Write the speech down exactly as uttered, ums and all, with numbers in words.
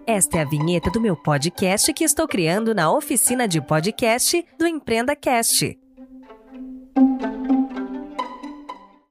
Esta é a vinheta do meu podcast que estou criando na oficina de podcast do Empreenda Cast.